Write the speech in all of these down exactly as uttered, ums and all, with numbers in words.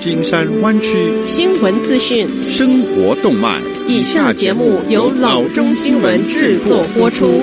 金山灣區新聞資訊、 生活動脈。 以下節目由老中新聞製作播出。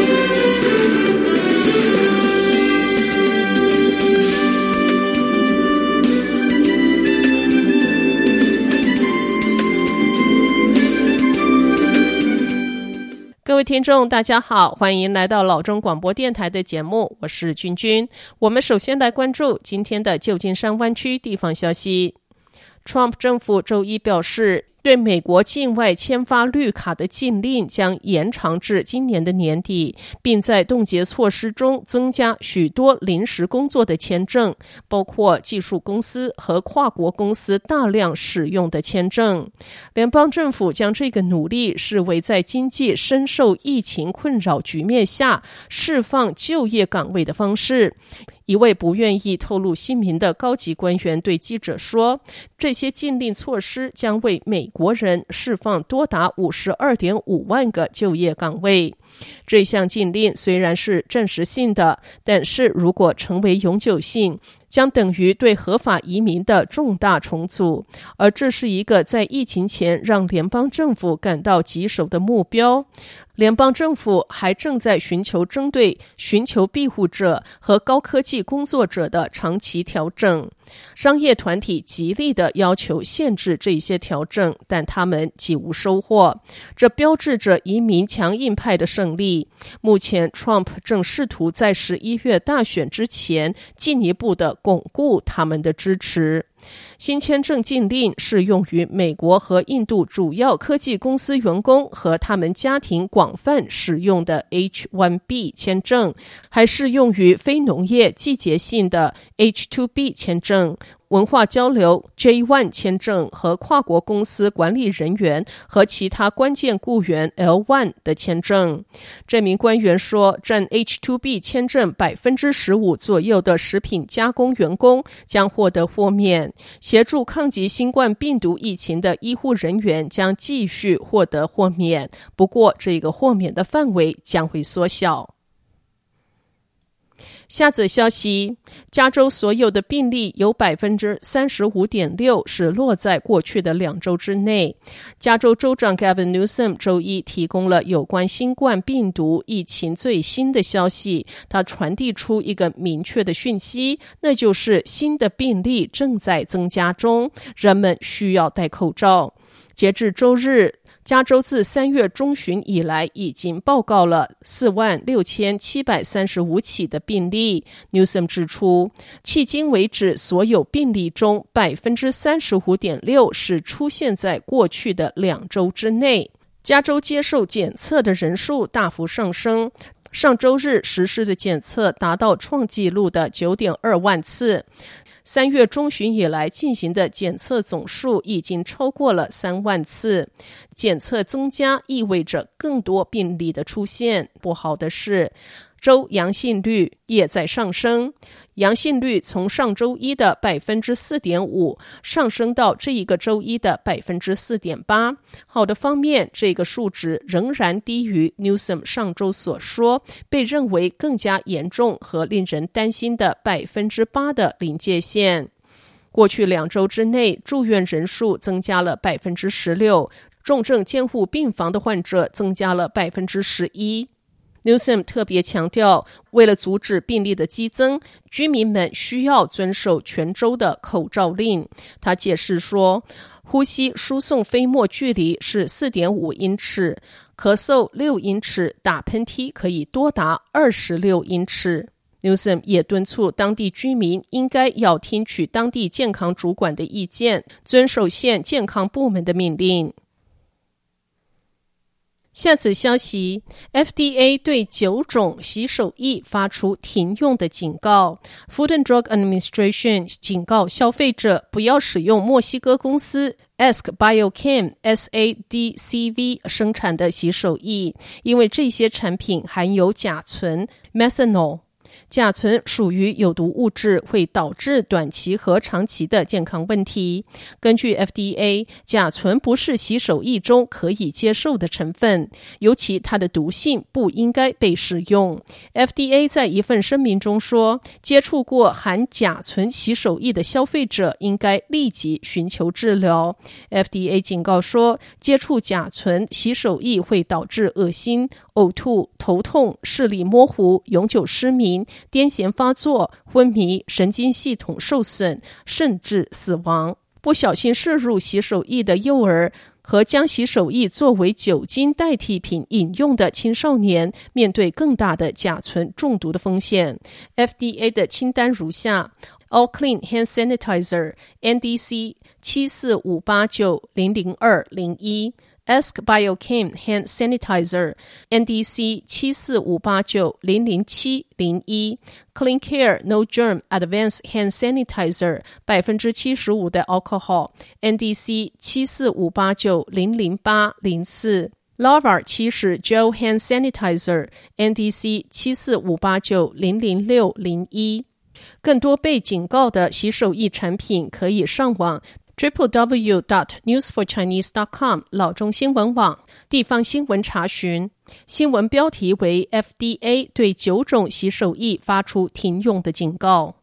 各位聽眾大家好，歡迎來到老中廣播電臺的節目，我是君君。我們首先來關注今天的舊金山灣區地方消息。Trump 政府周一表示，對美國境外簽發綠卡的禁令將延長至今年的年底，並在凍結措施中增加許多臨時工作的簽證，包括技術公司和跨國公司大量使用的簽證。聯邦政府將這個努力視為在經濟深受疫情困擾局面下釋放就業崗位的方式。一位不願意透露姓名的高級官員對記者說，這些禁令措施將為美國人釋放多達 五十二點五萬個就業崗位。這項禁令雖然是暫時性的，但是如果成為永久性，將等於對合法移民的重大重組，而這是一個在疫情前讓聯邦政府感到棘手的目標。聯邦政府還正在尋求針對尋求庇護者和高科技工作者的長期調整。商業團體極力地要求限制這些調整，但他們幾無收穫。這標誌着移民強硬派的勝利。目前 Trump 正試圖在十一月大選之前進一步地鞏固他們的支持。新簽證禁令適用於美國和印度主要科技公司員工和他們家庭廣泛使用的 H 一 B 簽證，還適用於非農業季節性的 H 二 B 簽證、文化交流 J 一 簽證和跨國公司管理人員和其他關鍵雇員 L 一 的簽證。這名官員說，佔 H 二 B 簽證 百分之十五 左右的食品加工員工將獲得豁免，協助抗擊新冠病毒疫情的醫護人員將繼續獲得豁免，不過這個豁免的範圍將會縮小。下則消息，加州所有的病例有 百分之三十五點六 是落在過去的兩周之內。加州州長 Gavin Newsom 周一提供了有關新冠病毒疫情最新的消息，他傳遞出一個明確的訊息，那就是新的病例正在增加中，人們需要戴口罩。截至周日，加州自三月中旬以來已經報告了四萬六千七百三十五起的病例。Newsom 指出，迄今為止所有病例中 百分之三十五點六 是出現在過去的兩周之內。加州接受檢測的人數大幅上升，上周日實施的檢測達到創紀錄的 九點二萬次。三月中旬以來進行的檢測總數已經超過了三萬次。檢測增加意味着更多病例的出現。不好的是，州陽性率也在上升。陽性率從上周一的 百分之四點五 上升到這一個周一的 百分之四點八。好的方面，這個數值仍然低於 Newsom 上周所說被認為更加嚴重和令人擔心的 百分之八 的臨界線。過去兩周之內，住院人數增加了 百分之十六， 重症監護病房的患者增加了 百分之十一。Newsom 特別強調，為了阻止病例的激增，居民們需要遵守全州的口罩令。他解釋說，呼吸輸送飛沫距離是 四點五英尺，咳嗽六英尺，打噴嚏可以多達二十六英尺。Newsom 也敦促當地居民應該要聽取當地健康主管的意見，遵守縣健康部門的命令。下次消息 ，F D A 對九種洗手液發出停用的警告。Food and Drug Administration 警告消費者不要使用墨西哥公司 Ask Biochem S A D C V 生產的洗手液，因為這些產品含有甲醇 methanol。 甲醇屬於有毒物質，會導致短期和長期的健康問題。根據 F D A， 甲醇不是洗手液中可以接受的成分，尤其它的毒性不應該被使用。F D A 在一份聲明中說，接觸過含甲醇洗手液的消費者應該立即尋求治療。F D A 警告說，接觸甲醇洗手液會導致噁心、嘔吐、頭痛、視力模糊、永久失明、癲癇發作、昏迷、神經系統受損，甚至死亡。不小心攝入洗手液的幼兒和將洗手液作為酒精代替品飲用的青少年，面對更大的甲醇中毒的風險。F D A 的清單如下：All Clean Hand Sanitizer N D C 七四五八九零零二零一。Ask Biochem Hand Sanitizer N D C 七四五八九零零七零一 Clean Care No Germ Advanced Hand Sanitizer 百分之七十五的 Alcohol N D C 七四五八九零零八零四 Lava 七十 Gel Hand Sanitizer N D C 七四五八九零零六零一。更多被警告的洗手液產品可以上網double-u double-u double-u dot news for chinese dot com 老中新聞網地方新聞查詢。新聞標題為 F D A 對九種洗手液發出停用的警告。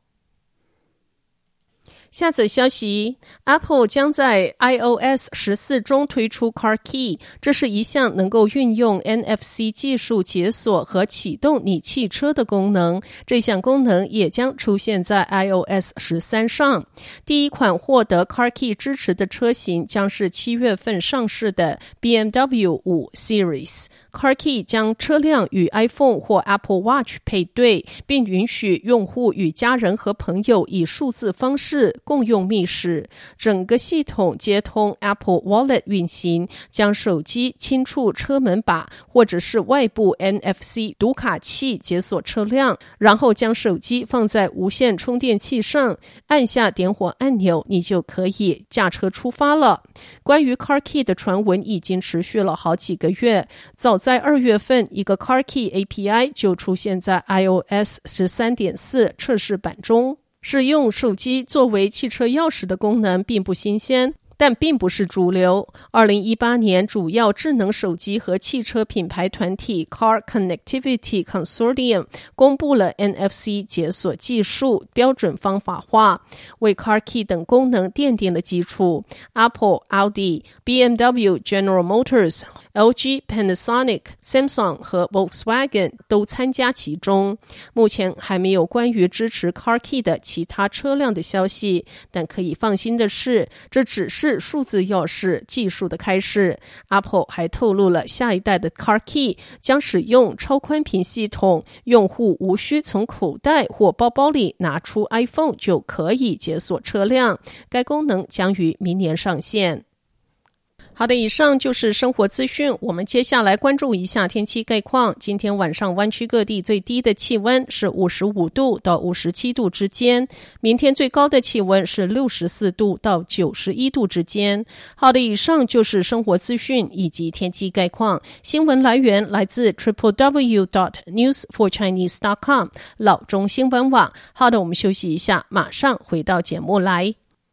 下則消息 Apple 將在 iOS 十四中推出 Car Key， 這是一項能夠運用 N F C 技術解鎖和啟動你汽車的功能。這項功能也將出現在 iOS 十三上。第一款獲得 Car Key 支持的車型將是七月份上市的 B M W 五 Series。Car Key 將車輛與 iPhone 或 Apple Watch 配對，並允許用戶與家人和朋友以數字方式共用密室。整個系統接通 Apple Wallet 運行，將手機輕觸車門把或者是外部 N F C 讀卡器解鎖車輛，然後將手機放在無線充電器上，按下點火按鈕，你就可以駕車出發了。關於 Car Key 的傳聞已經持續了好幾個月，早在二月份，一個 Car Key A P I 就出現在 iOS 十三點四 測試版中。使用手機作為汽車鑰匙的功能並不新鮮，但並不是主流。二零一八年，主要智能手機和汽車品牌團體 Car Connectivity Consortium 公布了 N F C 解鎖技術標準方法化，為 Car Key 等功能奠定了基礎。Apple、Audi、B M W、General Motors、L G、Panasonic、Samsung 和 Volkswagen 都參加其中。目前還沒有關於支持 Car Key 的其他車輛的消息，但可以放心的是，這只是數字鑰匙技術的開始。 Apple 還透露了下一代的 Car Key 將使用超寬頻系統，用戶無需從口袋或包包裡拿出 iPhone 就可以解鎖車輛。該功能將於明年上線。好的，以上就是生活資訊。我們接下來關注一下天氣概況。今天晚上灣區各地最低的氣溫是五十五度到五十七度之間，明天最高的氣溫是六十四度到九十一度之間。好的，以上就是生活資訊以及天氣概況。新聞來源來自 double-u double-u double-u dot news for chinese dot com 老中新聞網。好的，我們休息一下，馬上回到節目來。